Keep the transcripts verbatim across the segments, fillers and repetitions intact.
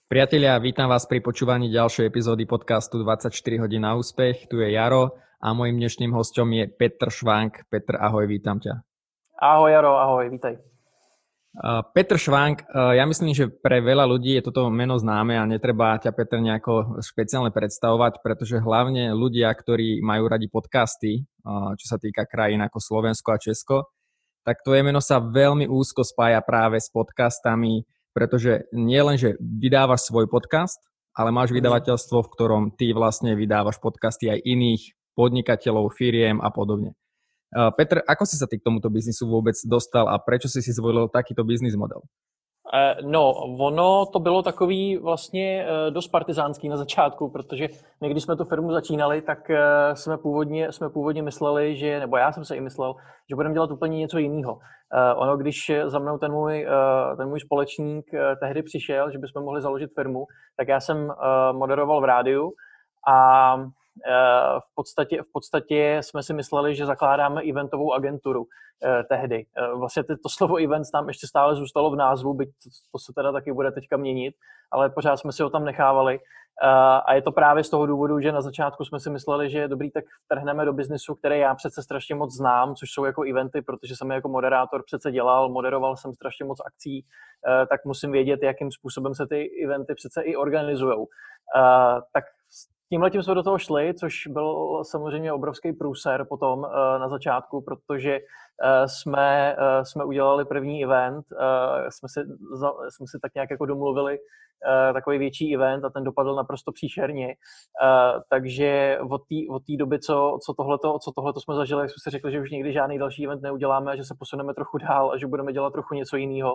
Priatelia, vítam vás pri počúvaní ďalšej epizódy podcastu dvadsaťštyri hodín na úspech. Tu je Jaro a mojím dnešným hosťom je Petr Švank. Petr, ahoj, vítam ťa. Ahoj Jaro, ahoj, vítaj. Uh, Petr Švank, uh, ja myslím, že pre veľa ľudí je toto meno známe a netreba ťa, Petr, nejako špeciálne predstavovať, pretože hlavne ľudia, ktorí majú radi podcasty, uh, čo sa týka krajín ako Slovensko a Česko, tak tvoje meno sa veľmi úzko spája práve s podcastami, pretože nie len, že vydávaš svoj podcast, ale máš vydavateľstvo, v ktorom ty vlastne vydávaš podcasty aj iných podnikateľov, firiem a podobne. Uh, Petr, ako si sa ty k tomuto biznisu vôbec dostal a prečo si si zvolil takýto biznis model? No, ono to bylo takový vlastně dost partizánský na začátku, protože my, když jsme tu firmu začínali, tak jsme původně, jsme původně mysleli, že, nebo já jsem se i myslel, že budeme dělat úplně něco jiného. Ono, když za mnou ten můj, ten můj společník tehdy přišel, že bychom mohli založit firmu, tak já jsem moderoval v rádiu a v podstatě, v podstatě jsme si mysleli, že zakládáme eventovou agenturu eh, tehdy. Eh, vlastně to slovo events tam ještě stále zůstalo v názvu, byť to, to se teda taky bude teďka měnit, ale pořád jsme si ho tam nechávali. Eh, a je to právě z toho důvodu, že na začátku jsme si mysleli, že je dobrý, tak vtrhneme do biznesu, který já přece strašně moc znám, což jsou jako eventy, protože jsem je jako moderátor přece dělal, moderoval jsem strašně moc akcí, eh, tak musím vědět, jakým způsobem se ty eventy přece i organizujou. Eh, tak tímhletím jsme do toho šli, což byl samozřejmě obrovský průser potom na začátku, protože jsme, jsme udělali první event, jsme si, jsme si tak nějak jako domluvili takový větší event a ten dopadl naprosto příšerně. Takže od té od té doby, co, co, tohleto, co tohleto jsme zažili, jsme si řekli, že už nikdy žádný další event neuděláme a že se posuneme trochu dál a že budeme dělat trochu něco jiného.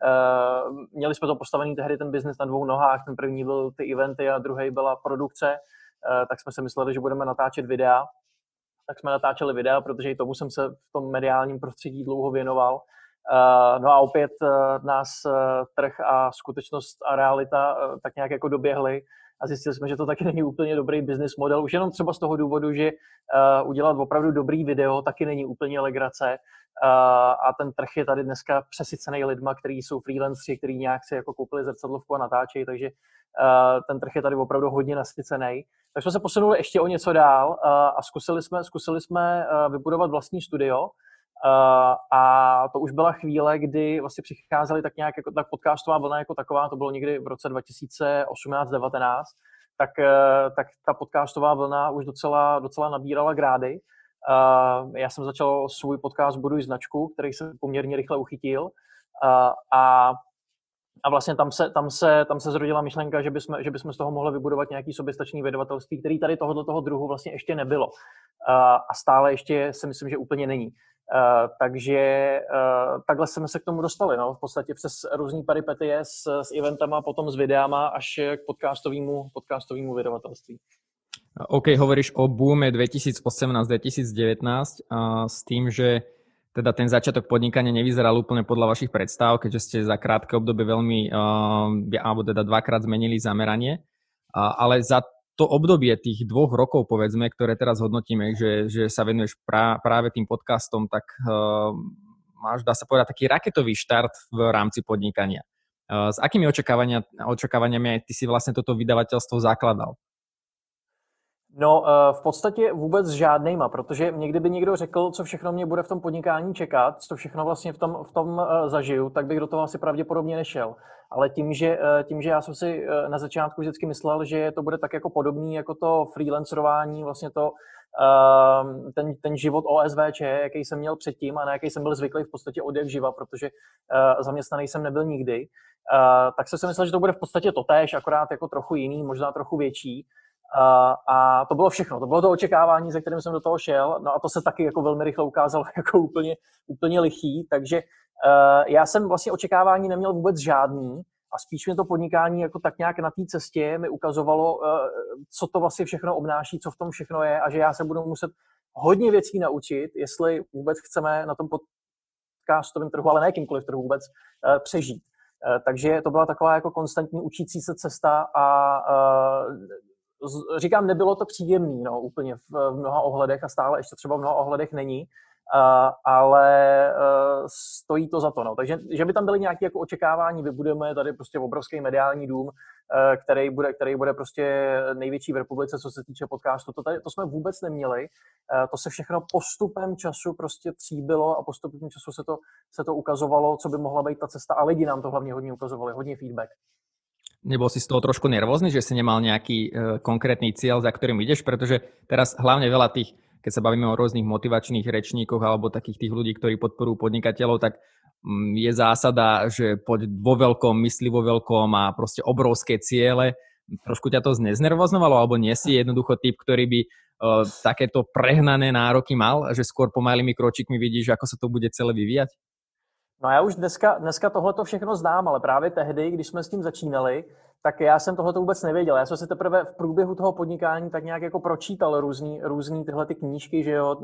Měli jsme to postavený tehdy ten biznis na dvou nohách, ten první byl ty eventy a druhý byla produkce. Tak jsme si mysleli, že budeme natáčet videa. Tak jsme natáčeli videa, protože i tomu jsem se v tom mediálním prostředí dlouho věnoval. No a opět nás trh a skutečnost a realita tak nějak jako doběhly a zjistili jsme, že to taky není úplně dobrý business model. Už jenom třeba z toho důvodu, že udělat opravdu dobrý video taky není úplně legrace. A ten trh je tady dneska přesycený lidma, kteří jsou freelanceri, kteří nějak si jako koupili zrcadlovku a natáčejí, takže ten trh je tady opravdu hodně nasycený. Tak jsme se posunuli ještě o něco dál a zkusili jsme, zkusili jsme vybudovat vlastní studio a to už byla chvíle, kdy vlastně přicházely tak nějak jako tak podcastová vlna jako taková, to bylo někdy v roce dva tisíce osmnáct devatenáct, tak, tak ta podcastová vlna už docela, docela nabírala grády. Já jsem začal svůj podcast Buduj značku, který jsem poměrně rychle uchytil a A vlastně tam se, tam se, tam se zrodila myšlenka, že bychom, že bychom z toho mohli vybudovat nějaký soběstačný vydavatelství, který tady tohoto toho druhu vlastně ještě nebylo. A stále ještě si myslím, že úplně není. Takže takhle jsme se k tomu dostali. No? V podstatě přes různý peripetie s, s eventama, potom s videama až k podcastovému, podcastovému vydavatelství. OK, hovoríš o boome dvetisícosemnásť dvetisícdevätnásť a s tým, že teda ten začiatok podnikania nevyzeral úplne podľa vašich predstav, keďže ste za krátke obdobie veľmi, uh, alebo teda dvakrát zmenili zameranie. Uh, ale za to obdobie tých dvoch rokov, povedzme, ktoré teraz hodnotíme, že, že sa venuješ pra, práve tým podcastom, tak uh, máš, dá sa povedať, taký raketový štart v rámci podnikania. Uh, s akými očakávania, očakávaniami ty si vlastne toto vydavateľstvo zakladal? No, v podstatě vůbec žádnejma, protože mě kdyby někdo řekl, co všechno mě bude v tom podnikání čekat, co všechno vlastně v tom, v tom zažiju, tak bych do toho asi pravděpodobně nešel. Ale tím že, tím, že já jsem si na začátku vždycky myslel, že to bude tak jako podobný, jako to freelancerování, vlastně to, ten, ten život O S V Č, jaký jsem měl předtím a na jaký jsem byl zvyklý v podstatě od jak živa, protože zaměstnaný jsem nebyl nikdy, tak jsem si myslel, že to bude v podstatě totéž, akorát jako trochu jiný, možná trochu větší. Uh, a to bylo všechno, to bylo to očekávání, se kterým jsem do toho šel, no a to se taky jako velmi rychle ukázalo jako úplně, úplně lichý, takže uh, já jsem vlastně očekávání neměl vůbec žádný a spíš mě to podnikání jako tak nějak na té cestě mi ukazovalo, uh, co to vlastně všechno obnáší, co v tom všechno je a že já se budu muset hodně věcí naučit, jestli vůbec chceme na tom podcastovém trhu, ale ne jakýmkoliv trhu vůbec, uh, přežít. Uh, takže to byla taková jako konstantní učící se cesta a uh, říkám, nebylo to příjemný, no, úplně v, v mnoha ohledech a stále ještě třeba v mnoha ohledech není, uh, ale uh, stojí to za to, no. Takže, že by tam byly nějaké jako očekávání, vybudujeme tady prostě obrovský mediální dům, který bude, který bude prostě největší v republice, co se týče podcastu. To, tady, to jsme vůbec neměli. To se všechno postupem času prostě tříbilo a postupem času se to, se to ukazovalo, co by mohla být ta cesta a lidi nám to hlavně hodně ukazovali, hodně feedback. Nebol si z toho trošku nervózny, že si nemal nejaký e, konkrétny cieľ, za ktorým ideš? Pretože teraz hlavne veľa tých, keď sa bavíme o rôznych motivačných rečníkoch alebo takých tých ľudí, ktorí podporujú podnikateľov, tak mm, je zásada, že poď vo veľkom, mysli vo veľkom a proste obrovské ciele. Trošku ťa to zneznervoznovalo, alebo nie si jednoducho typ, ktorý by e, takéto prehnané nároky mal, že skôr pomalými kročíkmi vidíš, ako sa to bude celé vyvíjať? No já už dneska, dneska tohleto všechno znám, ale právě tehdy, když jsme s tím začínali, tak já jsem tohleto vůbec nevěděl. Já jsem si teprve v průběhu toho podnikání tak nějak jako pročítal různý, různý tyhle ty knížky, že jo,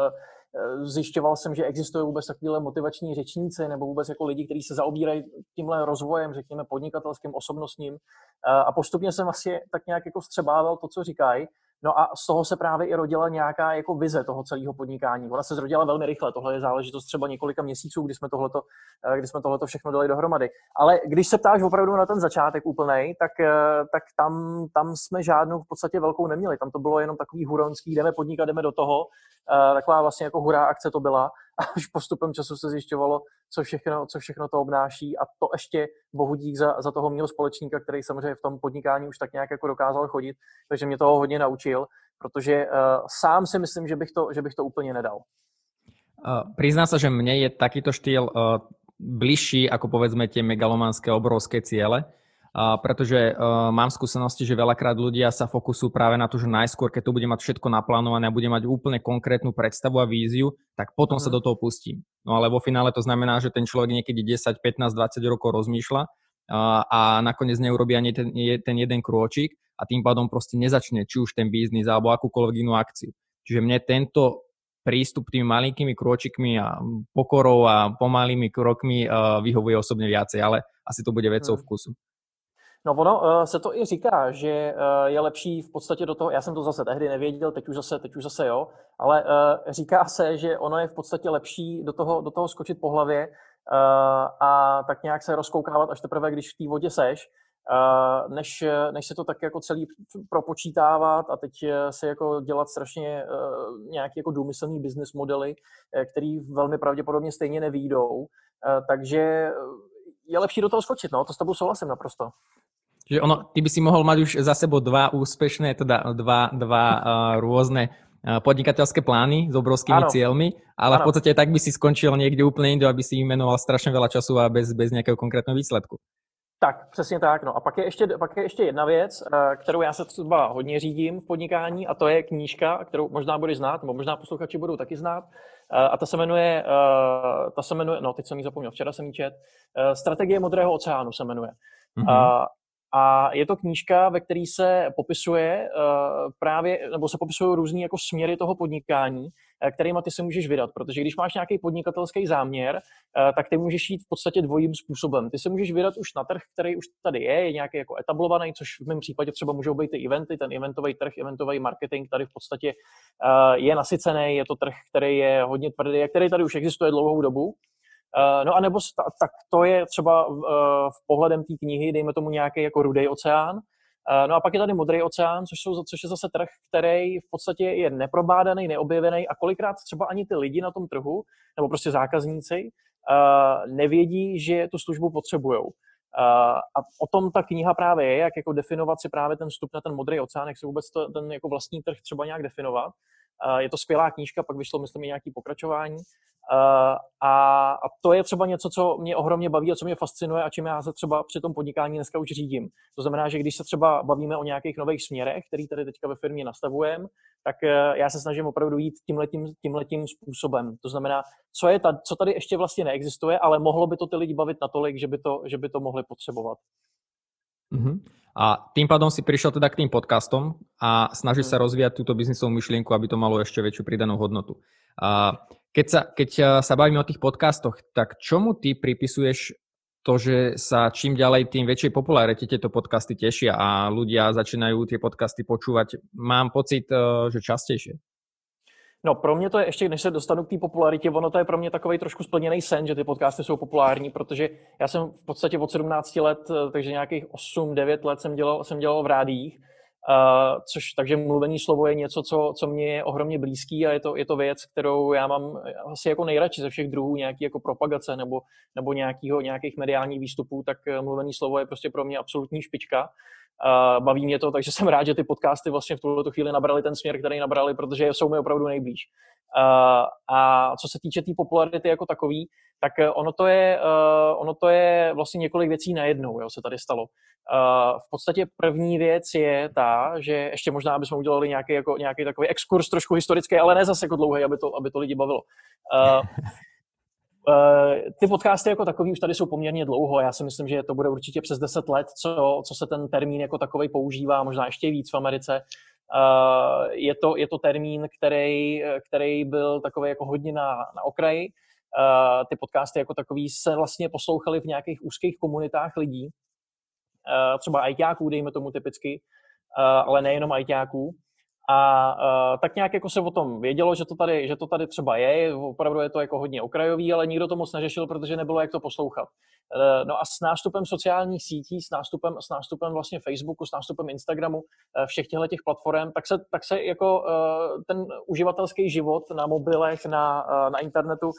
zjišťoval jsem, že existují vůbec takovéhle motivační řečníci nebo vůbec jako lidi, kteří se zaobírají tímhle rozvojem, řekněme podnikatelským, osobnostním a postupně jsem asi tak nějak jako vstřebával to, co říkají. No a z toho se právě i rodila nějaká jako vize toho celého podnikání. Ona se zrodila velmi rychle, tohle je záležitost třeba několika měsíců, kdy jsme tohleto, kdy jsme tohleto všechno dali dohromady. Ale když se ptáš opravdu na ten začátek úplnej, tak, tak tam, tam jsme žádnou v podstatě velkou neměli. Tam to bylo jenom takový huronský, jdeme podnikat, jdeme do toho. Taková vlastně jako hurá akce to byla. A už postupem času se zjišťovalo, co všechno, co všechno to obnáší a to ještě bohu dík za, za toho mýho společníka, který samozřejmě v tom podnikání už tak nějak jako dokázal chodit, takže mě toho hodně naučil, protože uh, sám si myslím, že bych to, že bych to úplně nedal. Uh, prizná sa, že mne je takýto štýl uh, bližší ako povedzme tie megalomanské obrovské ciele. Uh, pretože uh, mám skúsenosti, že veľakrát ľudia sa fokusujú práve na to, že najskôr, keď to bude mať všetko naplánované a bude mať úplne konkrétnu predstavu a víziu, tak potom mm. sa do toho pustím. No ale vo finále to znamená, že ten človek niekedy desať, pätnásť, dvadsať rokov rozmýšľa uh, a nakoniec neurobí ani ten, ten jeden krôčik a tým pádom proste nezačne či už ten biznis alebo akúkoľvek inú akciu. Čiže mne tento prístup tými malinkými krôčikmi a pokorou a pomalými krokmi uh, vyhovuje osobne viacej, ale asi to bude vecou mm. vkusu. No ono uh, se to i říká, že uh, je lepší v podstatě do toho, já jsem to zase tehdy nevěděl, teď už zase, teď už zase jo, ale uh, říká se, že ono je v podstatě lepší do toho, do toho skočit po hlavě uh, a tak nějak se rozkoukávat až teprve, když v té vodě seš, uh, než, než se to tak jako celý propočítávat a teď se jako dělat strašně uh, nějaký jako důmyslný business modely, uh, který velmi pravděpodobně stejně nevyjdou, uh, takže je lepší do toho skočit, no, to s tebou souhlasím naprosto. Čiže ono, ty by si mohol mať už za sebou dva úspešné, teda dva, dva uh, rôzne uh, podnikateľské plány s obrovskými ano. cieľmi, ale ano. v podstate tak by si skončil niekde úplne inde, aby si imenoval strašne veľa času a bez, bez nejakého konkrétneho výsledku. Tak, přesně tak. No a pak je, ještě, pak je ještě jedna věc, kterou já se třeba hodně řídím v podnikání, a to je knížka, kterou možná budeš znát, nebo možná posluchači budou taky znát. A ta se jmenuje, ta se jmenuje, no teď jsem ji zapomněl, včera jsem ji čet, Strategie modrého oceánu se jmenuje. Mm-hmm. A, a je to knížka, ve které se popisuje právě, nebo se popisují různý jako směry toho podnikání, kterýma ty se můžeš vydat, protože když máš nějaký podnikatelský záměr, tak ty můžeš jít v podstatě dvojím způsobem. Ty se můžeš vydat už na trh, který už tady je, je nějaký jako etablovaný, což v mém případě třeba můžou být ty eventy, ten eventový trh, eventový marketing tady v podstatě je nasycený, je to trh, který je hodně tvrdý, který tady už existuje dlouhou dobu. No a nebo tak to je třeba v pohledem té knihy, dejme tomu nějaký jako rudý oceán. No a pak je tady modrý oceán, což, jsou, což je zase trh, který v podstatě je neprobádaný, neobjevený a kolikrát třeba ani ty lidi na tom trhu, nebo prostě zákazníci, nevědí, že tu službu potřebujou. A o tom ta kniha právě je, jak jako definovat si právě ten vstup na ten modrý oceán, jak si vůbec to, ten jako vlastní trh třeba nějak definovat. Je to skvělá knížka, pak vyšlo, myslím, i nějaké pokračování. A, a to je třeba něco, co mě ohromně baví a co mě fascinuje a čím já se třeba při tom podnikání dneska už řídím. To znamená, že když se třeba bavíme o nějakých nových směrech, který tady teďka ve firmě nastavujeme, tak já se snažím opravdu jít tímhletím, tímhletím způsobem. To znamená, co, je ta, co tady ještě vlastně neexistuje, ale mohlo by to ty lidi bavit natolik, že by to, že by to mohli potřebovat. Uh-huh. A tým pádom si prišiel teda k tým podcastom a snažíš sa rozvíjať túto biznisovú myšlienku, aby to malo ešte väčšiu pridanú hodnotu. A keď sa, keď sa bavíme o tých podcastoch, tak čomu ty pripisuješ to, že sa čím ďalej tým väčšej popularite tieto podcasty tešia a ľudia začínajú tie podcasty počúvať, mám pocit, že častejšie? No pro mě to je ještě, než se dostanu k té popularitě, ono to je pro mě takový trošku splněný sen, že ty podcasty jsou populární, protože já jsem v podstatě od sedmnácti let, takže nějakých osm devět let jsem dělal, jsem dělal v rádiích, uh, což takže mluvený slovo je něco, co, co mě je ohromně blízký a je to, je to věc, kterou já mám asi jako nejradši ze všech druhů nějaký jako propagace nebo, nebo nějakýho, nějakých mediálních výstupů, tak mluvený slovo je prostě pro mě absolutní špička. Uh, baví mě to, takže jsem rád, že ty podcasty vlastně v tuto chvíli nabrali ten směr, který nabrali, protože jsou mi opravdu nejblíž. Uh, a co se týče té tý popularity jako takový, tak ono to je, uh, ono to je vlastně několik věcí najednou, jo, se tady stalo. Uh, v podstatě první věc je ta, že ještě možná, aby jsme udělali nějaký, jako, nějaký takový exkurs trošku historický, ale ne zase jako dlouhý, aby to, aby to lidi bavilo. Uh, Ty podcasty jako takový už tady jsou poměrně dlouho. Já si myslím, že to bude určitě přes deset let, co, co se ten termín jako takovej používá, možná ještě víc v Americe. Je to, je to termín, který, který byl takový jako hodně na, na okraji. Ty podcasty jako takový se vlastně poslouchaly v nějakých úzkých komunitách lidí, třeba ajťáků, dejme tomu typicky, ale nejenom ajťáků. A uh, tak nějak jako se o tom vědělo, že to, tady, že to tady třeba je, opravdu je to jako hodně okrajový, ale nikdo to moc neřešil, protože nebylo jak to poslouchat. Uh, no a s nástupem sociálních sítí, s nástupem, s nástupem vlastně Facebooku, s nástupem Instagramu, uh, všech těchto těch platform, tak se, tak se jako uh, ten uživatelský život na mobilech, na, uh, na internetu uh,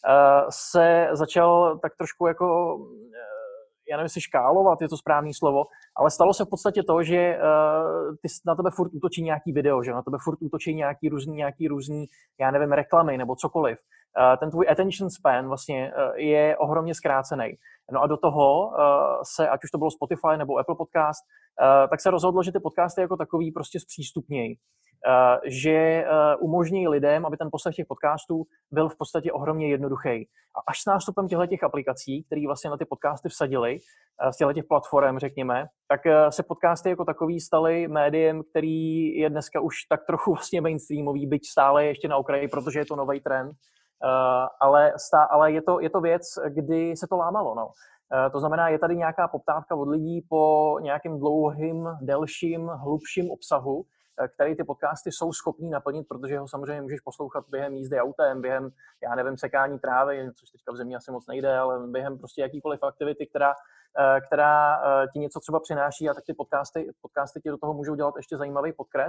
se začal tak trošku jako... Uh, já nevím, jestli škálovat, je to správné slovo, ale stalo se v podstatě to, že uh, ty na tebe furt útočí nějaký video, že na tebe furt útočí nějaký různý, nějaký různý, já nevím, reklamy nebo cokoliv. Uh, ten tvůj attention span vlastně uh, je ohromně zkrácený. No a do toho uh, se, ať už to bylo Spotify nebo Apple Podcast, uh, tak se rozhodlo, že ty podcasty jako takový prostě zpřístupnějí. Uh, že uh, umožní lidem, aby ten poslech těch podcastů byl v podstatě ohromně jednoduchý. A až s nástupem těchto aplikací, které vlastně na ty podcasty vsadili, uh, z těchto platform, řekněme, tak uh, se podcasty jako takový staly médiem, který je dneska už tak trochu vlastně mainstreamový, byť stále ještě na okraji, protože je to nový trend. Uh, ale stá, ale je, to, je to věc, kdy se to lámalo. No. Uh, to znamená, je tady nějaká poptávka od lidí po nějakým dlouhým, delším, hlubším obsahu, který ty podcasty jsou schopní naplnit, protože ho samozřejmě můžeš poslouchat během jízdy autem, během, já nevím, sekání trávy, což teďka v zemi asi moc nejde, ale během prostě jakýkoliv aktivity, která, která ti něco třeba přináší a tak ty podcasty, podcasty ti do toho můžou dělat ještě zajímavý podkres.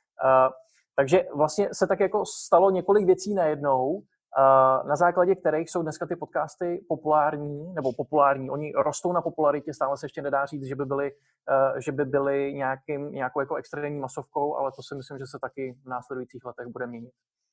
Takže vlastně se tak jako stalo několik věcí najednou, na základě kterých jsou dneska ty podcasty populární, nebo populární, oni rostou na popularitě, stále se ještě nedá říct, že by byly, že by byly nějakým, nějakou jako extrémní masovkou, ale to si myslím, že se taky v následujících letech bude měnit.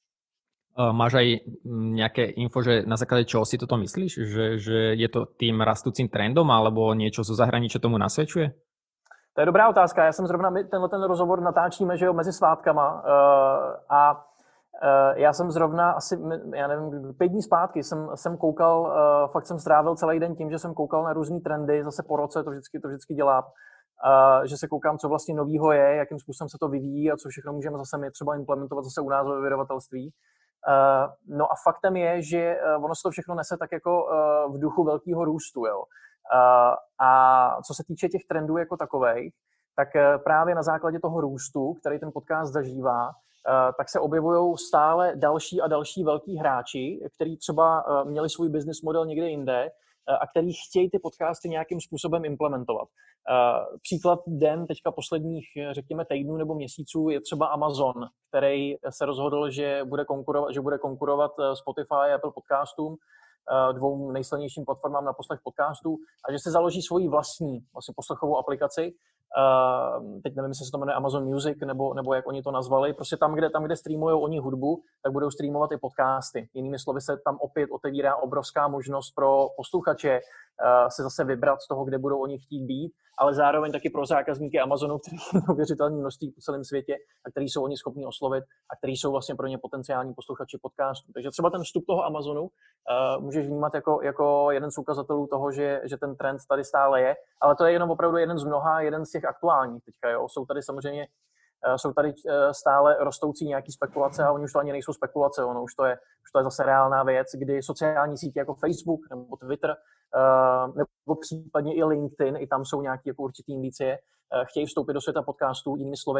Máš aj nejaké info, že na základe čoho si toto myslíš? Že, že je to tým rastúcim trendom, alebo niečo zo zahraničia tomu nasvedčuje? To je dobrá otázka. Já jsem zrovna, my tenhle ten rozhovor natáčíme, že jo, mezi svátkama a já jsem zrovna asi, já nevím, pět dní zpátky jsem, jsem koukal, uh, fakt jsem strávil celý den tím, že jsem koukal na různý trendy, zase po roce to vždycky, to vždycky dělám, uh, že se koukám, co vlastně novýho je, jakým způsobem se to vyvíjí a co všechno můžeme zase my třeba implementovat zase u nás ve vydavatelství. Uh, no a faktem je, že uh, ono se to všechno nese tak jako uh, v duchu velkého růstu, jo. Uh, a co se týče těch trendů jako takových, tak uh, právě na základě toho růstu, který ten podcast zažívá, Uh, tak se objevují stále další a další velký hráči, kteří třeba uh, měli svůj business model někde jinde uh, a který chtějí ty podcasty nějakým způsobem implementovat. Uh, příklad den teďka posledních, řekněme, týdnů nebo měsíců je třeba Amazon, který se rozhodl, že bude konkurovat, že bude konkurovat Spotify a Apple podcastům, uh, dvou nejsilnějším platformám na poslech podcastů, a že se založí svoji vlastní vlastně poslechovou aplikaci. Uh, teď nevím, jestli se to jmenuje Amazon Music, nebo, nebo jak oni to nazvali. Prostě tam, kde, tam, kde streamujou oni hudbu, tak budou streamovat i podcasty. Jinými slovy se tam opět otevírá obrovská možnost pro posluchače uh, se zase vybrat z toho, kde budou oni chtít být, ale zároveň taky pro zákazníky Amazonu, kterých je neuvěřitelné množství po celém světě a který jsou oni schopni oslovit a který jsou vlastně pro ně potenciální posluchači podcastů. Takže třeba ten vstup toho Amazonu uh, můžeš vnímat jako, jako jeden z ukazatelů toho, že, že ten trend tady stále je, ale to je jenom opravdu jeden z mnoha, jeden z těch aktuálních teďka, jo. Jsou tady samozřejmě, uh, jsou tady uh, stále rostoucí nějaký spekulace a oni už to ani nejsou spekulace, ono už to je, už to je zase reálná věc, kdy sociální sítě jako Facebook nebo Twitter Uh, nebo případně i LinkedIn, i tam jsou nějaké jako určitý indicie, uh, chtějí vstoupit do světa podcastů, jinými slovy.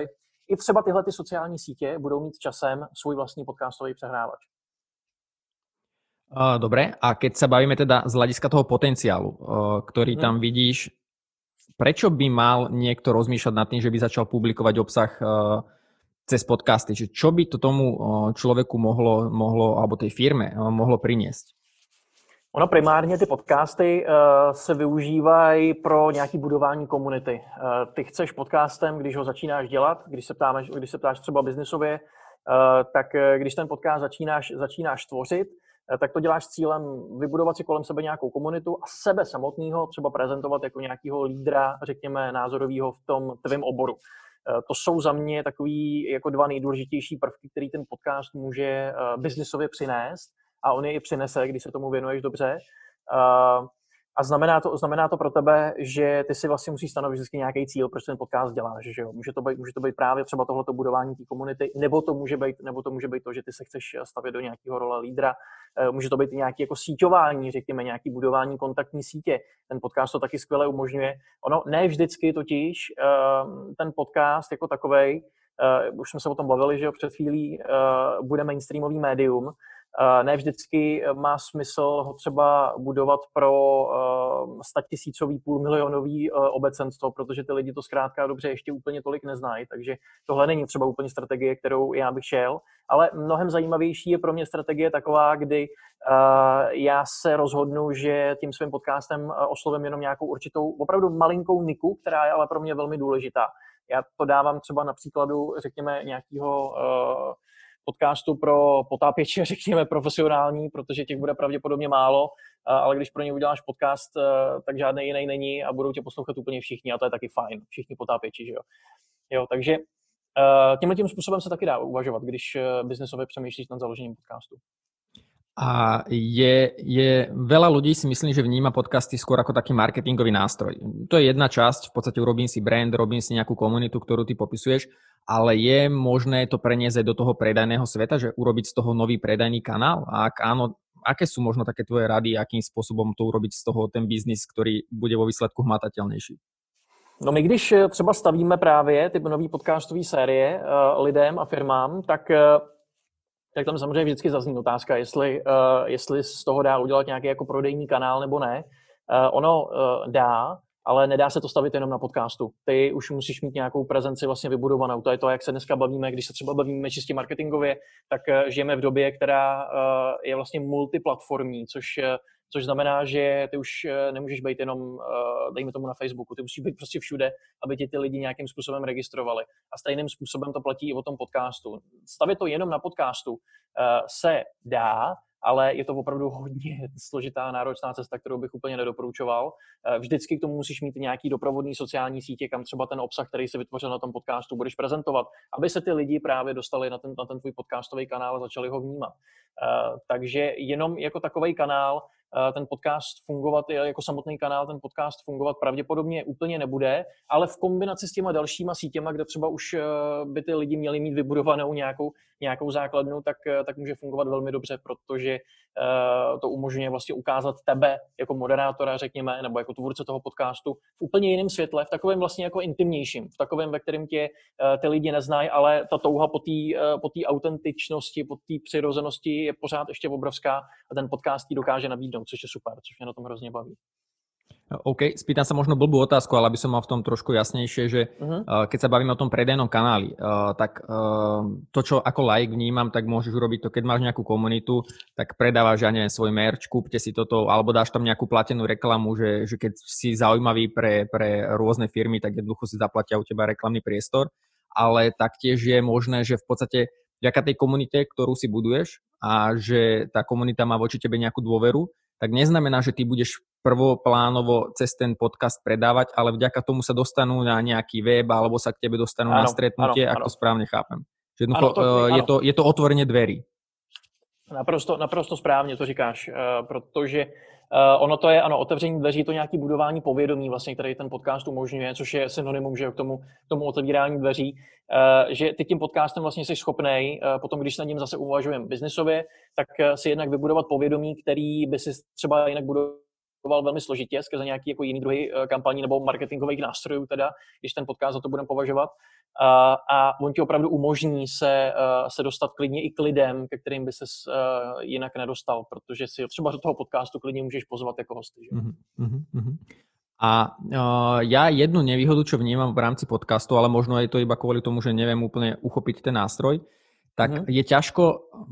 i třeba tyhle ty sociální sítě budou mít časem svůj vlastní podcastový přehrávač. Dobre, a keď sa bavíme teda z hľadiska toho potenciálu, ktorý tam hmm. vidíš, prečo by mal niekto rozmýšľať nad tým, že by začal publikovať obsah cez podcasty? Čiže čo by to tomu človeku mohlo, mohlo alebo tej firme mohlo priniesť? Ono primárně ty podcasty uh, se využívají pro nějaké budování komunity. Uh, ty chceš podcastem, když ho začínáš dělat, když se, ptáme, když se ptáš třeba biznisově, uh, tak uh, když ten podcast začínáš, začínáš tvořit, uh, tak to děláš s cílem vybudovat si kolem sebe nějakou komunitu a sebe samotného třeba prezentovat jako nějakého lídra, řekněme, názorového v tom tvém oboru. Uh, to jsou za mě takový jako dva nejdůležitější prvky, který ten podcast může uh, biznisově přinést. A on je i přinese, když se tomu věnuješ dobře. Uh, a znamená to, znamená to pro tebe, že ty si vlastně musíš stanovit vždycky nějaký cíl, proč ten podcast děláš. Že jo? Může to být, může to být právě třeba tohleto budování té komunity, nebo to může být, nebo to může být to, že ty se chceš stavět do nějakého role lídra. Uh, může to být i nějaké jako síťování, řekněme, nějaké budování kontaktní sítě. Ten podcast to taky skvěle umožňuje. Ono ne vždycky totiž uh, ten podcast jako takovej, uh, už jsme se o tom bavili, že jo, před chvílí, uh, bude mainstreamový médium. Ne vždycky má smysl ho třeba budovat pro statisícový, půlmilionový obecenstvo, protože ty lidi to zkrátka dobře ještě úplně tolik neznají, takže tohle není třeba úplně strategie, kterou já bych šel, ale mnohem zajímavější je pro mě strategie taková, kdy já se rozhodnu, že tím svým podcastem oslovím jenom nějakou určitou, opravdu malinkou niku, která je ale pro mě velmi důležitá. Já to dávám třeba na příkladu, řekněme, nějakého podcastu pro potápěče, řekněme profesionální, protože těch bude pravděpodobně málo, ale když pro ně uděláš podcast, tak žádný jiný není a budou tě poslouchat úplně všichni a to je taky fajn, všichni potápěči, že jo. Jo, takže tímhle tím způsobem se taky dá uvažovat, když biznesově přemýšlíš nad založením podcastu. A je, je veľa ľudí si myslí, že vníma podcasty skôr ako taký marketingový nástroj. To je jedna časť, v podstate urobím si brand, robím si nejakú komunitu, ktorú ty popisuješ, ale je možné to preniesť aj do toho predajného sveta, že urobiť z toho nový predajný kanál? A ak áno, aké sú možno také tvoje rady, akým spôsobom to urobiť z toho ten biznis, ktorý bude vo výsledku hmatateľnejší? No my když třeba stavíme právě ty nový podcastové série uh, lidem a firmám, tak uh, tak tam samozřejmě vždycky zazní otázka, jestli, uh, jestli z toho dá udělat nějaký jako prodejní kanál nebo ne. Uh, ono uh, dá, ale nedá se to stavit jenom na podcastu. Ty už musíš mít nějakou prezenci vlastně vybudovanou. To je to, jak se dneska bavíme, když se třeba bavíme čistě marketingově, tak uh, žijeme v době, která uh, je vlastně multiplatformní, což uh, což znamená, že ty už nemůžeš být jenom, dejme tomu na Facebooku, ty musíš být prostě všude, aby ti ty lidi nějakým způsobem registrovali. A stejným způsobem to platí i o tom podcastu. Stavět to jenom na podcastu se dá, ale je to opravdu hodně složitá, náročná cesta, kterou bych úplně nedoporučoval. Vždycky k tomu musíš mít nějaký doprovodný sociální sítě, kam třeba ten obsah, který se vytvořil na tom podcastu, budeš prezentovat, aby se ty lidi právě dostali na ten, na ten tvůj podcastový kanál a začali ho vnímat. Takže jenom jako takový kanál ten podcast fungovat jako samotný kanál, ten podcast fungovat pravděpodobně úplně nebude, ale v kombinaci s těma dalšíma sítěma, kde třeba už by ty lidi měli mít vybudovanou nějakou, nějakou základnu, tak, tak může fungovat velmi dobře, protože to umožňuje vlastně ukázat tebe jako moderátora, řekněme, nebo jako tvůrce toho podcastu v úplně jiném světle, v takovém vlastně jako intimnějším, v takovém, ve kterém tě ty lidi neznají, ale ta touha po té po té autentičnosti, po té přirozenosti je pořád ještě obrovská a ten podcast ti dokáže nabídnout, což je super, což mě na tom hrozně baví. OK, spýtam sa možno blbú otázku, ale aby som mal v tom trošku jasnejšie, že uh-huh. keď sa bavíme o tom predajnom kanáli, uh, tak uh, to, čo ako like vnímam, tak môžeš urobiť to, keď máš nejakú komunitu, tak predávaš, ja neviem, svoj merch, kúpte si toto, alebo dáš tam nejakú platenú reklamu, že, že keď si zaujímavý pre, pre rôzne firmy, tak jednoducho si zaplatia u teba reklamný priestor, ale taktiež je možné, že v podstate vďaka tej komunite, ktorú si buduješ a že tá komunita má voči tebe nejakú dôveru, tak neznamená, že ty budeš prvoplánovo cez ten podcast predávať, ale vďaka tomu sa dostanú na nejaký web alebo sa k tebe dostanú ano, na stretnutie, ano, ak ano. To správne chápem. Že ano, to, je, to, je to otvorenie dverí. Naprosto, naprosto správně to říkáš, uh, protože uh, ono to je, ano, otevření dveří, to nějaký budování povědomí, vlastně, který ten podcast umožňuje, což je synonymum, že k tomu, k tomu otevírání dveří, uh, že ty tím podcastem vlastně jsi schopnej, uh, potom, když se nad ním zase uvažujeme biznisově, tak uh, si jednak vybudovat povědomí, který by si třeba jinak budoval velmi složitě skrze nějaký jako jiný druhy kampaní nebo marketingových nástrojů, teda, když ten podcast za to budeme považovat. A, a on ti opravdu umožní se, se dostat klidně i k lidem, ke kterým by ses jinak nedostal, protože si třeba do toho podcastu klidně můžeš pozvat jako hosty. Že? Mm-hmm, mm-hmm. A uh, ja jednu nevýhodu, čo vnímam v rámci podcastu, ale možno je to iba kvôli tomu, že neviem úplne uchopiť ten nástroj, tak mm-hmm. je ťažko,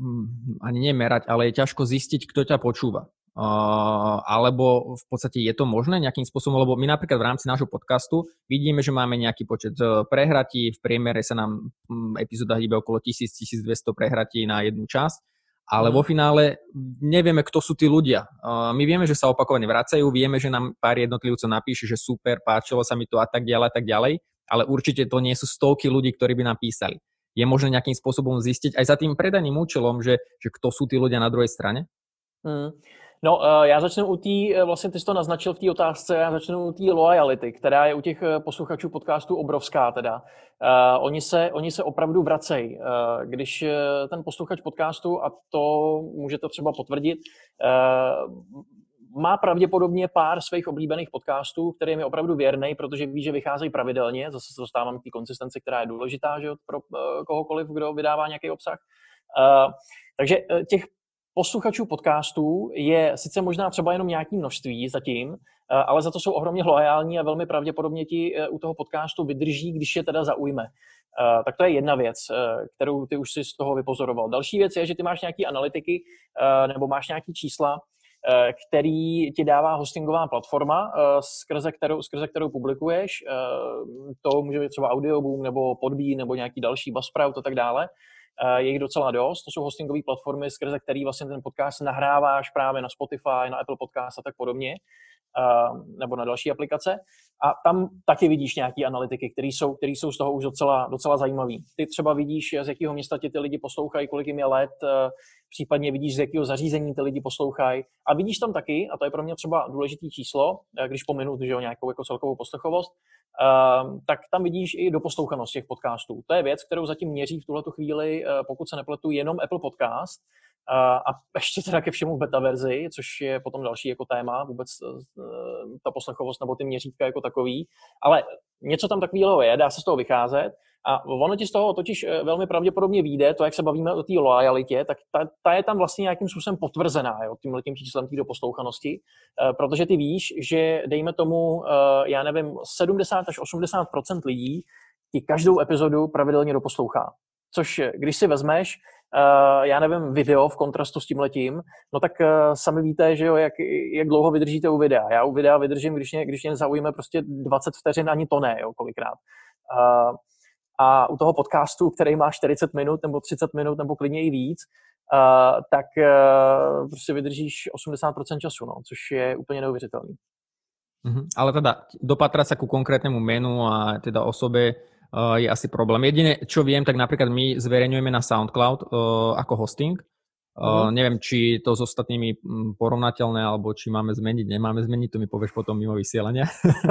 ani nemerať, ale je ťažko zistiť, kto ťa počúva. Uh, alebo v podstate je to možné nejakým spôsobom, lebo my napríklad v rámci nášho podcastu vidíme, že máme nejaký počet prehratí, v priemere sa nám epizóda hýbe okolo tisíc až tisícdvesto prehratí na jednu časť, ale vo finále nevieme, kto sú tí ľudia. Uh, my vieme, že sa opakovane vracajú, vieme, že nám pár jednotlivcov napíše, že super, páčilo sa mi to a tak ďalej a tak ďalej, ale určite to nie sú stovky ľudí, ktorí by nám písali. Je možné nejakým spôsobom zistiť aj za tým predajným účelom, že, že kto sú tí ľudia na druhej strane? Hmm. No, uh, já začnu u té, vlastně ty jsi to naznačil v té otázce, já začnu u té loyalty, která je u těch posluchačů podcastů obrovská teda. Uh, oni, se, oni se opravdu vracejí. Uh, když ten posluchač podcastu, a to můžete třeba potvrdit, uh, má pravděpodobně pár svých oblíbených podcastů, kterým je opravdu věrnej, protože ví, že vycházejí pravidelně, zase se dostávám k té konsistenci, která je důležitá, že pro uh, kohokoliv, kdo vydává nějaký obsah. Uh, takže uh, těch posluchačů podcastů je sice možná třeba jenom nějaké množství zatím, ale za to jsou ohromně loajální a velmi pravděpodobně ti u toho podcastu vydrží, když je teda zaujme. Tak to je jedna věc, kterou ty už si z toho vypozoroval. Další věc je, že ty máš nějaké analytiky nebo máš nějaké čísla, který ti dává hostingová platforma, skrze kterou, skrze kterou publikuješ. To může být třeba Audioboom nebo Podbean nebo nějaký další Buzzsprout a tak dále. Je jich docela dost, to jsou hostingové platformy, skrze který vlastně ten podcast nahráváš právě na Spotify, na Apple Podcast a tak podobně, nebo na další aplikace. A tam taky vidíš nějaké analytiky, které jsou, které jsou z toho už docela, docela zajímavé. Ty třeba vidíš, z jakého města ti ty lidi poslouchají, kolik jim je let, případně vidíš, z jakého zařízení ty lidi poslouchají. A vidíš tam taky, a to je pro mě třeba důležitý číslo, když pominu že jo, nějakou jako celkovou poslechovost, Uh, tak tam vidíš i doposlouchanost těch podcastů. To je věc, kterou zatím měří v tuhletu chvíli, uh, pokud se nepletu, jenom Apple Podcast uh, a ještě teda ke všemu v beta verzi, což je potom další jako téma, vůbec uh, ta poslechovost nebo ty měřítka jako takový. Ale něco tam takového je, dá se z toho vycházet a ono ti z toho totiž velmi pravděpodobně vyjde, to, jak se bavíme o té loajalitě, tak ta, ta je tam vlastně nějakým způsobem potvrzená, jo, tímhletím číslem té doposlouchanosti, uh, protože ty víš, že dejme tomu, uh, já nevím, sedmdesát až osmdesát procent lidí ti každou epizodu pravidelně doposlouchá. Což, když si vezmeš, uh, já nevím, video v kontrastu s tímhletím, no tak uh, sami víte, že jo, jak, jak dlouho vydržíte u videa. Já u videa vydržím, když mě, když mě zaujíme prostě dvacet vteřin, ani to ne, jo, kolikrát. Uh, A u toho podcastu, který má čtyřicet minut nebo třicet minut nebo klidně i víc, uh, tak uh, prostě vydržíš osmdesát procent času, no, což je úplně neuvěřitelný. Mm-hmm. Ale teda dopatrať sa ku konkrétnemu menu a teda osobe uh, je asi problém. Jedine, čo viem, tak napríklad my zverejňujeme na SoundCloud uh, ako hosting. Uh, mm-hmm. Neviem, či to s ostatnými porovnateľné, alebo či máme zmeniť, nemáme zmeniť, to mi povieš potom mimo vysielania.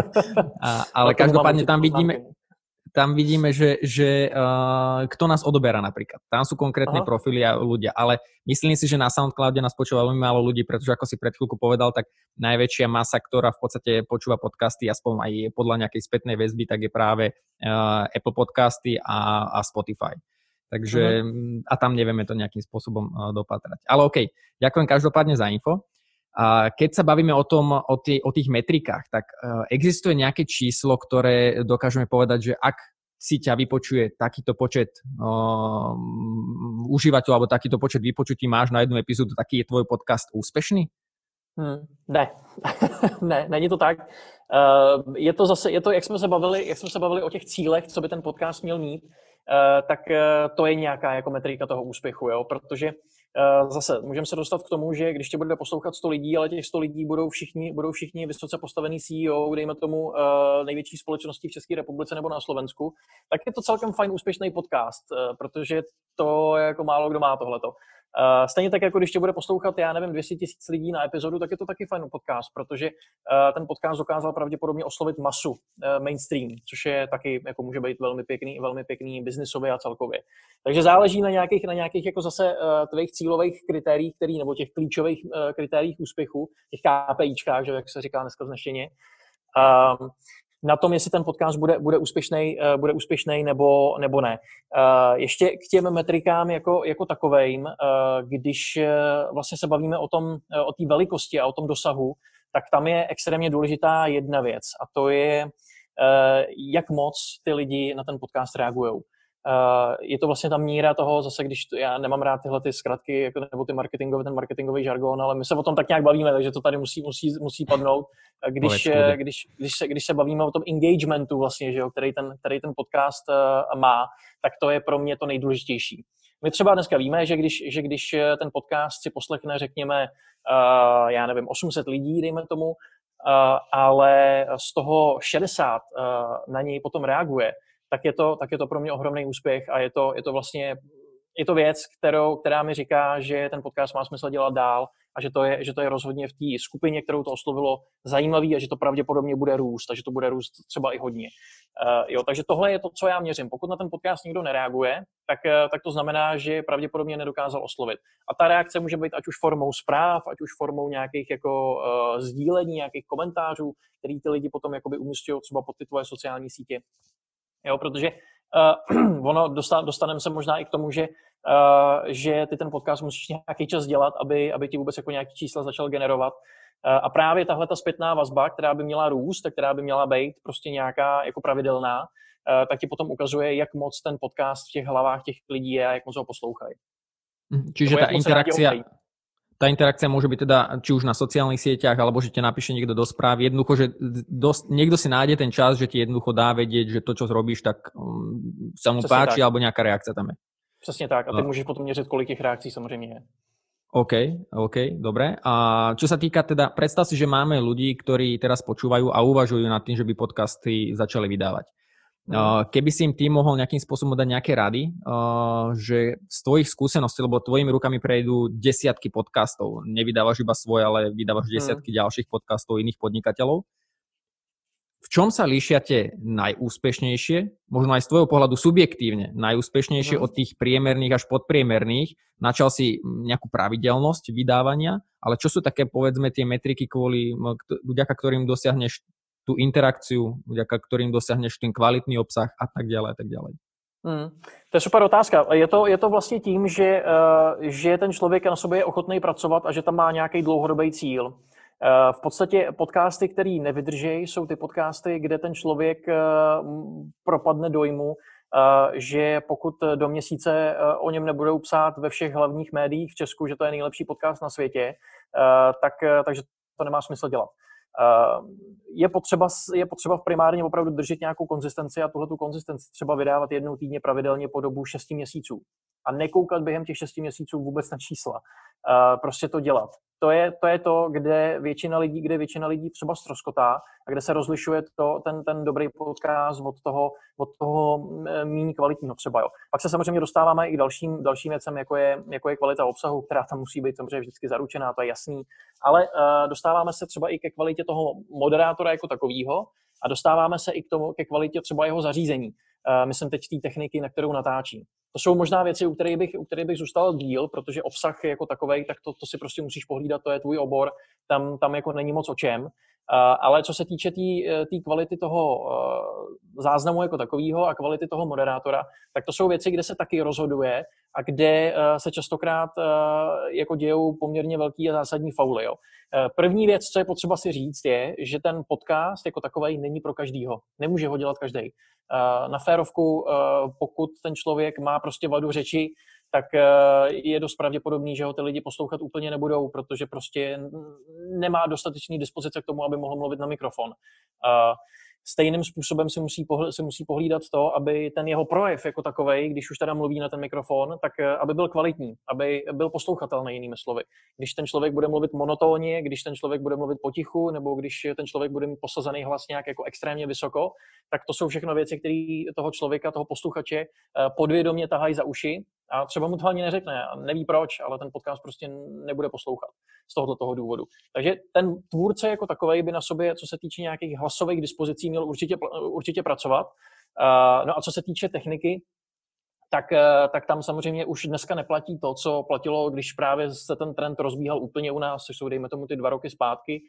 a, ale no, každopádne tam vidíme... Tam vidíme, že, že uh, kto nás odoberá napríklad. Tam sú konkrétne Aha. profily a ľudia, ale myslím si, že na SoundCloude nás počúva veľmi málo ľudí, pretože ako si pred chvíľku povedal, tak najväčšia masa, ktorá v podstate počúva podcasty, aspoň aj podľa nejakej spätnej väzby, tak je práve uh, Apple Podcasty a, a Spotify. Takže uh-huh. a tam nevieme to nejakým spôsobom uh, dopatrať. Ale okej, okay, ďakujem každopádne za info. A keď sa bavíme o tom, o, tý, o tých metrikách, tak uh, existuje nejaké číslo, ktoré dokážeme povedať, že ak si ťa vypočuje takýto počet uh, užívateľov alebo takýto počet vypočutí máš na jednu epizódu, taký je tvoj podcast úspešný? Hmm, ne, ne, není to tak. Uh, je to zase, je to, jak jsme se bavili, jak jsme se bavili o těch cílech, co by ten podcast měl mít, uh, tak uh, to je nějaká jako metrika toho úspěchu, jo, protože Uh, zase můžeme se dostat k tomu, že když tě bude poslouchat sto lidí, ale těch sto lidí budou všichni, budou všichni vysoce postavený C E O, dejme tomu uh, největší společnosti v České republice nebo na Slovensku, tak je to celkem fajn úspěšný podcast, uh, protože to je jako málo kdo má tohleto. Uh, stejně tak, jako když tě bude poslouchat, já nevím, dvě stě tisíc lidí na epizodu, tak je to taky fajn podcast, protože uh, ten podcast dokázal pravděpodobně oslovit masu, uh, mainstream, což je taky, jako může být velmi pěkný, velmi pěkný biznisově a celkově. Takže záleží na nějakých, na nějakých jako zase uh, tvých cílových kritériích, který, nebo těch klíčových uh, kritériích úspěchu, těch KPIčkách, že, jak se říká dneska vznešeně. Um, na tom, jestli ten podcast bude, bude úspěšný, uh, bude úspěšný nebo, nebo ne. Uh, ještě k těm metrikám jako, jako takovejm, uh, když uh, vlastně se bavíme o tom, uh, o té velikosti a o tom dosahu, tak tam je extrémně důležitá jedna věc a to je, uh, jak moc ty lidi na ten podcast reagujou. Uh, je to vlastně ta míra toho, zase když to, já nemám rád tyhle ty zkratky jako, nebo ty marketingové, ten marketingový žargon, ale my se o tom tak nějak bavíme, takže to tady musí, musí, musí padnout. Když, když, když, se, když se bavíme o tom engagementu vlastně, že jo, který, ten, který ten podcast uh, má, tak to je pro mě to nejdůležitější. My třeba dneska víme, že když, že když ten podcast si poslechne, řekněme, uh, já nevím, osm set lidí, dejme tomu, uh, ale z toho šedesát uh, na něj potom reaguje, tak je to, tak je to pro mě ohromný úspěch a je to, je to vlastně je to věc, kterou, která mi říká, že ten podcast má smysl dělat dál a že to je, že to je rozhodně v té skupině, kterou to oslovilo, zajímavý a že to pravděpodobně bude růst a že to bude růst třeba i hodně. Uh, jo, takže tohle je to, co já měřím. Pokud na ten podcast nikdo nereaguje, tak, uh, tak to znamená, že pravděpodobně nedokázal oslovit. A ta reakce může být ať už formou zpráv, ať už formou nějakých jako uh, sdílení, nějakých komentářů, který ty lidi potom jakoby umísťují třeba pod ty tvoje sociální sítě. Jo, protože uh, ono dosta, dostaneme se možná i k tomu, že, uh, že ty ten podcast musíš nějaký čas dělat, aby, aby ti vůbec jako nějaký čísla začal generovat. Uh, a právě tahle ta zpětná vazba, která by měla růst, a která by měla být prostě nějaká jako pravidelná, uh, tak ti potom ukazuje, jak moc ten podcast v těch hlavách těch lidí je a jak moc ho poslouchají. Čiže tá interakcia... Tá interakcia môže byť teda či už na sociálnych sieťach, alebo že ti napíše niekto do správ. Jednoducho, že dosť, niekto si nájde ten čas, že ti jednoducho dá vedieť, že to, čo robíš, tak um, sa mu Přesně páči, tak. Alebo nejaká reakcia tam je. Přesně tak. A ty no. můžeš potom měřit, kolik těch reakcí samozřejmě je. OK, OK, dobre. A čo sa týka teda, predstav si, že máme ľudí, ktorí teraz počúvajú a uvažujú nad tým, že by podcasty začali vydávať. Keby si im tým mohol nejakým spôsobom dať nejaké rady, že z tvojich skúseností, lebo tvojimi rukami prejdú desiatky podcastov, nevydávaš iba svoje, ale vydávaš desiatky hmm. ďalších podcastov iných podnikateľov. V čom sa líšia tie najúspešnejšie, možno aj z tvojho pohľadu subjektívne, najúspešnejšie hmm. od tých priemerných až podpriemerných? Načal si nejakú pravidelnosť vydávania, ale čo sú také, povedzme, tie metriky, kvôli, vďaka ktorým dosiahneš tú interakciu, vďaka ktorým dosiahneš ten kvalitný obsah a tak ďalej a tak ďalej. Hmm. To je super otázka. Je to, je to vlastně tím, že, uh, že ten člověk na sobě je ochotný pracovat a že tam má nějaký dlouhodobý cíl. Uh, v podstatě podcasty, které nevydržejí, jsou ty podcasty, kde ten člověk uh, propadne dojmu, uh, že pokud do měsíce uh, o něm nebudou psát ve všech hlavních médiích v Česku, že to je nejlepší podcast na světě, uh, tak, uh, takže to nemá smysl dělat. Je potřeba, je potřeba primárně opravdu držet nějakou konzistenci a tuhletu konzistenci třeba vydávat jednou týdně pravidelně po dobu šesti měsíců. A nekoukat během těch šesti měsíců vůbec na čísla. Prostě to dělat. To je, to je to, kde většina lidí, kde většina lidí třeba ztroskotá a kde se rozlišuje to, ten, ten dobrý podcast od toho, od toho méně kvalitního třeba. Jo. Pak se samozřejmě dostáváme i k dalším, dalším věcem, jako je, jako je kvalita obsahu, která tam musí být samozřejmě vždycky zaručená, to je jasný. Ale uh, dostáváme se třeba i ke kvalitě toho moderátora jako takového a dostáváme se i k tomu, ke kvalitě třeba jeho zařízení. Uh, myslím teď té techniky, na kterou natáčí. To jsou možná věci, u kterých bych, u kterých bych zůstal díl, protože obsah jako takovej, tak to, to si prostě musíš pohlídat, to je tvůj obor, tam, tam jako není moc o čem. Uh, ale co se týče té kvality toho uh, záznamu jako takového a kvality toho moderátora, tak to jsou věci, kde se taky rozhoduje a kde uh, se častokrát uh, jako dějou poměrně velký a zásadní fauly. Jo. Uh, první věc, co je potřeba si říct, je, že ten podcast jako takovej není pro každýho. Nemůže ho dělat každý. Uh, na férovku, uh, pokud ten člověk má prostě vadu řeči, tak je dost pravděpodobný, že ho ty lidi poslouchat úplně nebudou, protože prostě nemá dostatečný dispozice k tomu, aby mohl mluvit na mikrofon. Stejným způsobem si musí, pohl- si musí pohlídat to, aby ten jeho projev jako takovej, když už teda mluví na ten mikrofon, tak aby byl kvalitní, aby byl poslouchatelný, jinými slovy. Když ten člověk bude mluvit monotónně, když ten člověk bude mluvit potichu, nebo když ten člověk bude mít posazený hlas nějak jako extrémně vysoko, tak to jsou všechno věci, které toho člověka, toho posluchače podvědomě tahají za uši A třeba mu to ani neřekne a neví proč, ale ten podcast prostě nebude poslouchat z tohoto toho důvodu. Takže ten tvůrce jako takovej by na sobě, co se týče nějakých hlasových dispozicí, měl určitě, určitě pracovat. No a co se týče techniky, tak, tak tam samozřejmě už dneska neplatí to, co platilo, když právě se ten trend rozbíhal úplně u nás, což jsou dejme tomu ty dva roky zpátky,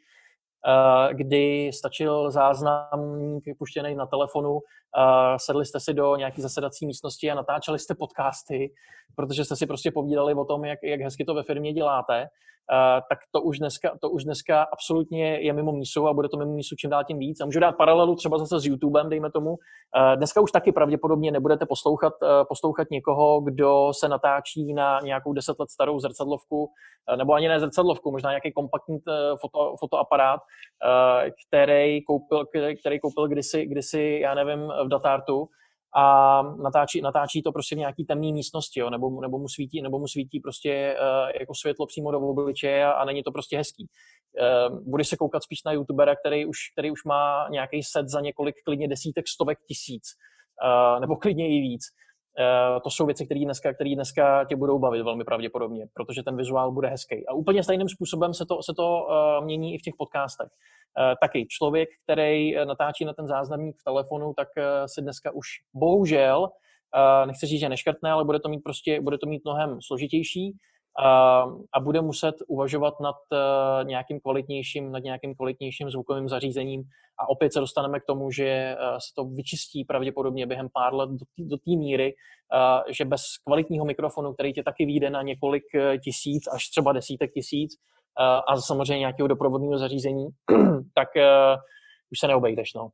kdy stačil záznamník puštěný na telefonu, sedli jste si do nějaké zasedací místnosti a natáčeli jste podcasty, protože jste si prostě povídali o tom, jak, jak hezky to ve firmě děláte, tak to už, dneska, to už dneska absolutně je mimo mísu a bude to mimo mísu čím dál tím víc. A můžu dát paralelu třeba zase s YouTubem, dejme tomu. Dneska už taky pravděpodobně nebudete poslouchat, poslouchat někoho, kdo se natáčí na nějakou deset let starou zrcadlovku, nebo ani ne zrcadlovku, možná nějaký kompaktní foto, fotoaparát, který koupil, který koupil kdysi, kdysi, já nevím, v Datartu a natáčí, natáčí to prostě v nějaký temné místnosti, jo, nebo, nebo, mu svítí, nebo mu svítí prostě uh, jako světlo přímo do obličeje a, a není to prostě hezký. Uh, budeš se koukat spíš na youtubera, který už, který už má nějaký set za několik klidně desítek, stovek tisíc, uh, nebo klidně i víc. Uh, to jsou věci, které dneska, které dneska tě budou bavit velmi pravděpodobně, protože ten vizuál bude hezký. A úplně stejným způsobem se to, se to uh, mění i v těch podcastech. Uh, taky člověk, který natáčí na ten záznamník v telefonu, tak uh, si dneska už bohužel, uh, nechci říct, že neškrtne, ale bude to mít prostě, bude to mít mnohem složitější uh, a bude muset uvažovat nad uh, nějakým kvalitnějším, nad nějakým kvalitnějším zvukovým zařízením. A opět se dostaneme k tomu, že uh, se to vyčistí pravděpodobně během pár let do té míry, uh, že bez kvalitního mikrofonu, který tě taky vyjde na několik tisíc až třeba desítek tisíc, a samozřejmě nějakého doprovodného zařízení, tak uh, už se neobejdeš. No.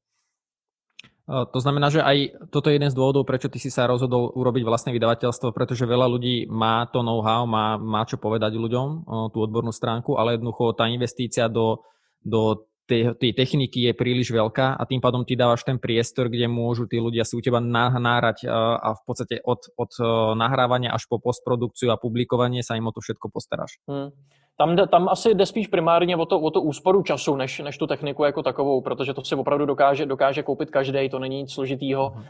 To znamená, že aj toto je jeden z dôvodov, prečo ty si sa rozhodol urobiť vlastné vydavateľstvo, pretože veľa ľudí má to know-how, má, má čo povedať ľuďom, tú odbornú stránku, ale jednoducho tá investícia do, do tej, tej techniky je príliš veľká a tým pádom ty dávaš ten priestor, kde môžu tí ľudia si u teba nahrať a v podstate od, od nahrávania až po postprodukciu a publikovanie sa im o to všetko postaráš. Hmm. Tam, tam asi jde spíš primárně o to, o to úsporu času, než, než tu techniku jako takovou, protože to si opravdu dokáže, dokáže koupit každý, to není nic složitýho, uh,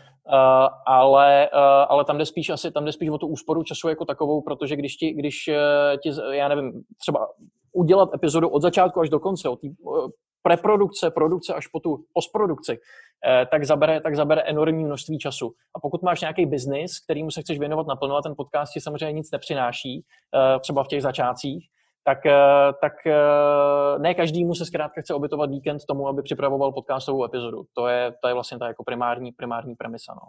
ale, uh, ale tam jde spíš asi tam jde spíš o tu úsporu času jako takovou, protože když ti, když uh, ti, já nevím, třeba udělat epizodu od začátku až do konce, od té uh, preprodukce, produkce až po tu postprodukci, uh, tak zabere, tak zabere enormní množství času. A pokud máš nějaký biznis, kterýmu se chceš věnovat naplno a ten podcast ti samozřejmě nic nepřináší, uh, třeba v těch začátcích, tak, tak ne každému se zkrátka chce obětovat víkend tomu, aby připravoval podcastovou epizodu. To je, to je vlastně ta jako primární, primární premisa. No.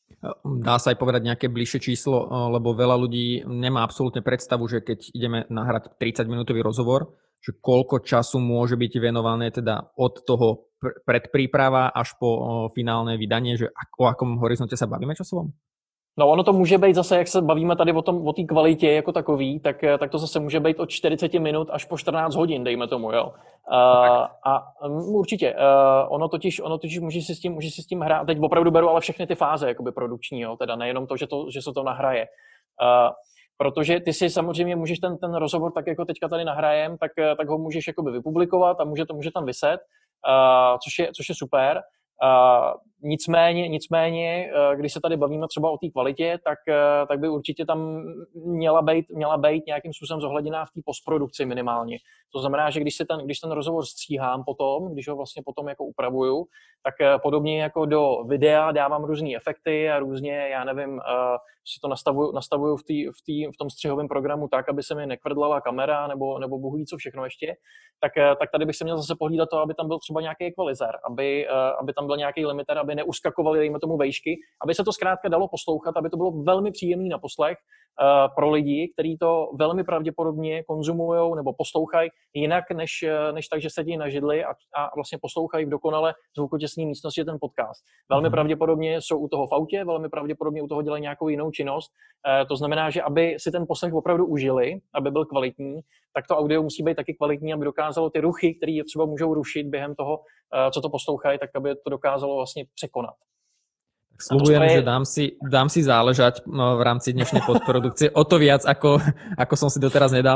Dá sa aj povedať nejaké bližšie číslo, lebo veľa ľudí nemá absolútne predstavu, že keď ideme nahrať tridsaťminútový rozhovor, že koľko času môže byť venované teda od toho predpríprava až po finálne vydanie, že o akom horizonte sa bavíme časovom? No ono to může být zase, jak se bavíme tady o tom, o té kvalitě jako takový, tak, tak to zase může být od čtyřicet minut až po čtrnáct hodin, dejme tomu, jo. Uh, a um, určitě, uh, ono totiž, ono totiž může si s tím, může si s tím hrát, teď opravdu beru ale všechny ty fáze, jakoby produkční, jo, teda nejenom to, že, to, že se to nahraje. Uh, protože ty si samozřejmě můžeš ten, ten rozhovor, tak jako teďka tady nahrajem, tak, tak ho můžeš jakoby vypublikovat a může to může tam viset, uh, což je, což je super. Uh, nicméně, nicméně, uh, když se tady bavíme třeba o té kvalitě, tak, uh, tak by určitě tam měla být, měla být nějakým způsobem zohledněná v té postprodukci minimálně. To znamená, že když, se ten, když ten rozhovor stříhám potom, když ho vlastně potom jako upravuju, tak uh, podobně jako do videa dávám různé efekty a různě, já nevím, uh, si to nastavuju, nastavuju v, tý, v, tý, v tom střihovém programu tak, aby se mi nekvrdlala kamera nebo, nebo bohu ví co všechno ještě, tak, uh, tak tady bych se měl zase pohlídat to, aby tam byl třeba nějaký ekvalizer, aby, uh, aby tam byl nějaký limiter, aby neuskakovaly, dejme tomu, vejšky, aby se to zkrátka dalo poslouchat, aby to bylo velmi příjemný na poslech uh, pro lidi, kteří to velmi pravděpodobně konzumujou nebo poslouchají jinak, než, než tak, že sedí na židli a, a vlastně poslouchají v dokonale zvukotěsné místnosti ten podcast. Velmi mm. pravděpodobně jsou u toho v autě, velmi pravděpodobně u toho dělají nějakou jinou činnost. Uh, to znamená, že aby si ten poslech opravdu užili, aby byl kvalitní, tak to audio musí být taky kvalitní, aby dokázalo ty ruchy, které třeba můžou rušit během toho, uh, co to poslouchají, tak aby to dokázalo vlastně překonat. Sľubujem, je... že dám si, dám si záležať no, v rámci dnešnej postprodukcie o to viac, ako, ako som si doteraz nedal.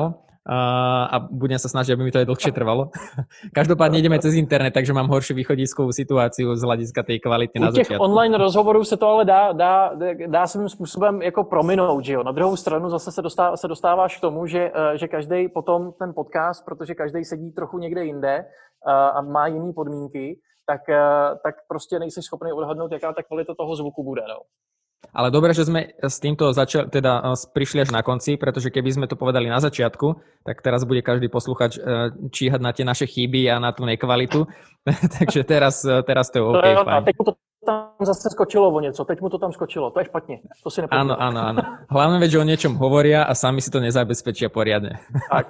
a budem sa snažiť, aby mi to aj dlhšie trvalo. Každopádne ideme cez internet, takže mám horšiu východiskovú situáciu z hlediska tej kvality na začiatku. U těch začiatku. online rozhovorů se to ale dá, dá, dá svým způsobem jako prominout, že jo. Na druhou stranu zase se, dostá, se dostáváš k tomu, že, že každý potom ten podcast, protože každý sedí trochu někde jinde a má jiné podmínky, tak, tak prostě nejsi schopný odhadnout, jaká ta kvalita toho zvuku bude, no. Ale dobre, že sme s týmto začali, teda prišli až na konci, pretože keby sme to povedali na začiatku, tak teraz bude každý posluchač číhať na tie naše chyby a na tú nekvalitu. Takže teraz, teraz to je OK, to fajn. Teď mu to tam zase skočilo o něco, teď mu to tam skočilo, to je špatně, to si nepomínám. Áno, áno, áno. Hlavne vec, že o niečom hovoria a sami si to nezabezpečia poriadne. Tak.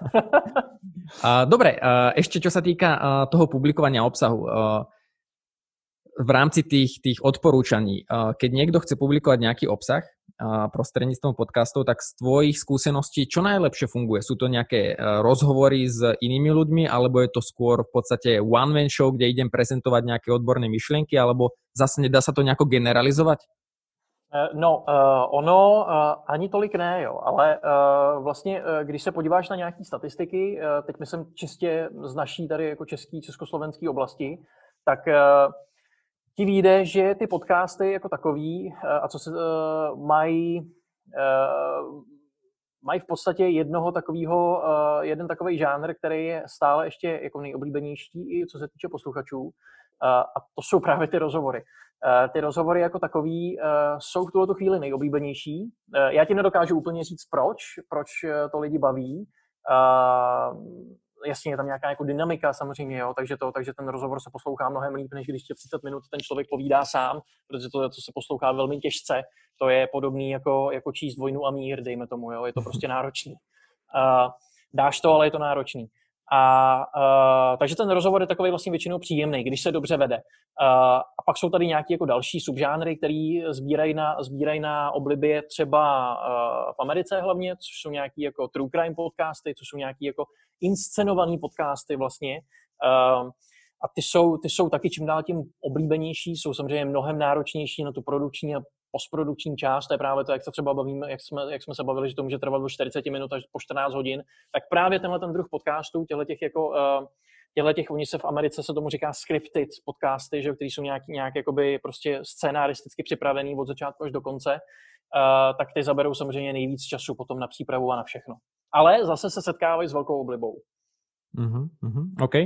Dobre, ešte čo sa týka toho publikovania obsahu. V rámci tých, tých odporúčaní, keď niekto chce publikovať nejaký obsah prostredníctvom podcastov, tak z tvojich skúseností čo najlepšie funguje? Sú to nejaké rozhovory s inými ľuďmi, alebo je to skôr v podstate one-man show, kde idem prezentovať nejaké odborné myšlienky, alebo zase nedá sa to nejako generalizovať? No, uh, ono uh, ani tolik ne, jo, ale uh, vlastně, uh, když se podíváš na nějaké statistiky, uh, teď myslím čistě z naší tady jako český, československý oblasti, tak uh, ti vyjde, že ty podcasty jako takový a co se uh, mají, uh, mají v podstatě jednoho takového, uh, jeden takový žánr, který je stále ještě jako nejoblíbenější i co se týče posluchačů, uh, a to jsou právě ty rozhovory. Uh, ty rozhovory jako takový uh, jsou v tuto chvíli nejoblíbenější. Uh, já ti nedokážu úplně říct proč, proč to lidi baví. Uh, Jasně, je tam nějaká jako dynamika samozřejmě, jo, takže, to, takže ten rozhovor se poslouchá mnohem líp, než když tě třicet minut ten člověk povídá sám, protože to, to se poslouchá velmi těžce. To je podobný jako, jako číst Vojnu a mír, dejme tomu, jo, je to prostě náročný. Uh, dáš to, ale je to náročný. A uh, takže ten rozhovor je takový vlastně většinou příjemný, když se dobře vede. Uh, a pak jsou tady nějaké jako další subžánry, které sbírají na, sbírají na oblibě třeba uh, v Americe hlavně, což jsou nějaké jako true crime podcasty, což jsou nějaké jako inscenované podcasty vlastně. Uh, a ty jsou, ty jsou taky čím dál tím oblíbenější, jsou samozřejmě mnohem náročnější na tu produkční a postprodukční část, to je právě to, jak se třeba bavíme, jak jsme, jak jsme se bavili, že to může trvat do čtyřicet minut až po čtrnáct hodin, tak právě tenhle ten druh podcastů, těchto těch jako, těchto těch, oni se v Americe se tomu říká scripted podcasty, že, který jsou nějak, nějak jakoby prostě scénaristicky připravený od začátku až do konce, uh, tak ty zaberou samozřejmě nejvíc času potom na přípravu a na všechno. Ale zase se setkávají s velkou oblibou. Uh-huh, uh-huh, OK.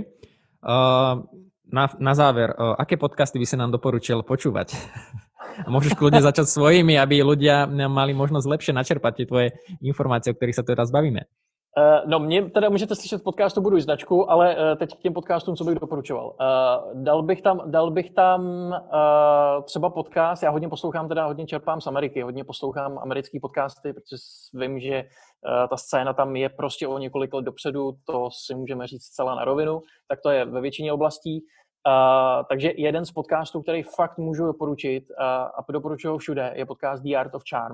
Uh, na, na záver, uh, aké podcasty by si nám doporučil počúvať? A môžeš kľudne začať svojimi, aby ľudia mali možnosť lepšie načerpať tie tvoje informácie, o ktorých sa teraz bavíme. Uh, no, mě teda můžete slyšet v podcastu Buduj značku, ale uh, teď k těm podcastům, co bych doporučoval. Uh, dal bych tam, dal bych tam uh, třeba podcast, já hodně poslouchám, teda hodně čerpám z Ameriky, hodně poslouchám americký podcasty, protože vím, že uh, ta scéna tam je prostě o několik let dopředu, to si můžeme říct zcela na rovinu, tak to je ve většině oblastí. Uh, takže jeden z podcastů, který fakt můžu doporučit uh, a doporučuji ho všude, je podcast The Art of Charm.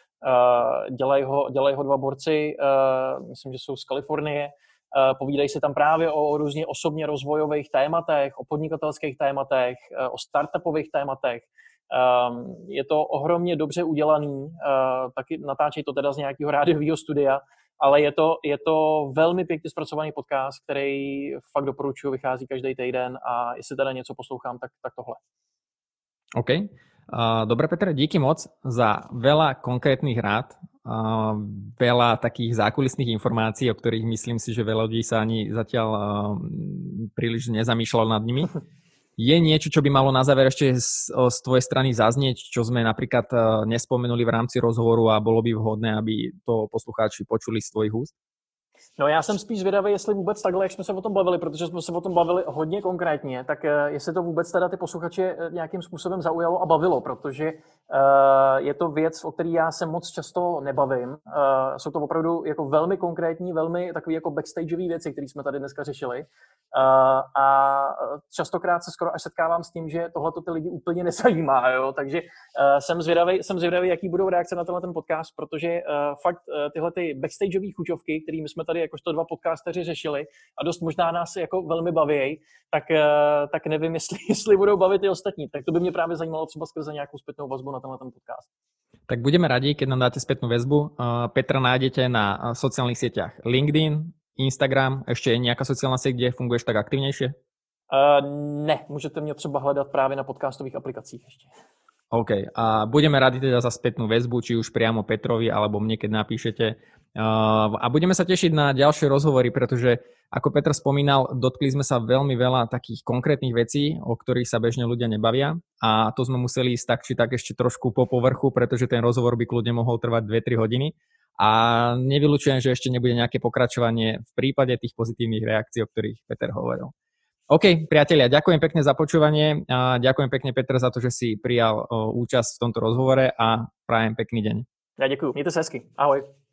Uh, dělají ho, dělaj ho dva borci, uh, myslím, že jsou z Kalifornie, uh, povídají si tam právě o, o různě osobně rozvojových tématech, o podnikatelských tématech, uh, o startupových tématech. Um, je to ohromně dobře udělaný, uh, taky natáčejí to teda z nějakého rádiového studia, ale je to, je to velmi pěkně zpracovaný podcast, který fakt doporučuji, vychází každý týden a jestli teda něco poslouchám, tak, tak tohle. OK. Dobre, Peter, díky moc za veľa konkrétnych rád, veľa takých zákulisných informácií, o ktorých myslím si, že veľa ľudí sa ani zatiaľ príliš nezamýšľalo nad nimi. Je niečo, čo by malo na záver ešte z, z tvojej strany zaznieť, čo sme napríklad nespomenuli v rámci rozhovoru a bolo by vhodné, aby to poslucháči počuli z tvojich úst? No já jsem spíš zvědavý, jestli vůbec takhle, jak jsme se o tom bavili, protože jsme se o tom bavili hodně konkrétně, tak jestli to vůbec teda ty posluchače nějakým způsobem zaujalo a bavilo, protože uh, je to věc, o který já se moc často nebavím. Uh, jsou to opravdu jako velmi konkrétní, velmi takové jako backstageové věci, které jsme tady dneska řešili. Uh, a častokrát se skoro až setkávám s tím, že tohle ty lidi úplně nezajímá, jo? Takže uh, jsem zvědavý, jsem zvědavý, jaký budou reakce na tenhle ten podcast, protože uh, fakt uh, tyhle ty backstageové chuťovky, kterými jsme tady jakožto dva podcasteři řešili a dost možná nás jako velmi baví, tak, uh, tak nevím, jestli, jestli budou bavit i ostatní. Tak to by mě právě zajímalo třeba skrze nějakou zpětnou vazbu na tenhle ten podcast. Tak budeme radi, keď nám dáte spätnú väzbu. Uh, Petra nájdete na sociálnych sieťach LinkedIn, Instagram, ešte je nejaká sociálna sieť, kde funguješ tak aktivnejšie? Uh, ne, můžete mě třeba hledat právě na podcastových aplikacích ještě. OK. A budeme radi teda za spätnú väzbu, či už priamo Petrovi, alebo mne, keď napíšete. Uh, a budeme sa tešiť na ďalšie rozhovory, pretože, ako Petr spomínal, dotkli sme sa veľmi veľa takých konkrétnych vecí, o ktorých sa bežne ľudia nebavia. A to sme museli ísť tak, či tak ešte trošku po povrchu, pretože ten rozhovor by kľudne mohol trvať dve tri hodiny. A nevylučujem, že ešte nebude nejaké pokračovanie v prípade tých pozitívnych reakcií, o ktorých Peter hovoril. OK, priatelia, ďakujem pekne za počúvanie a ďakujem pekne, Petr, za to, že si prijal účasť v tomto rozhovore a prajem pekný deň. Ja ďakujem, mějte se hezky, ahoj.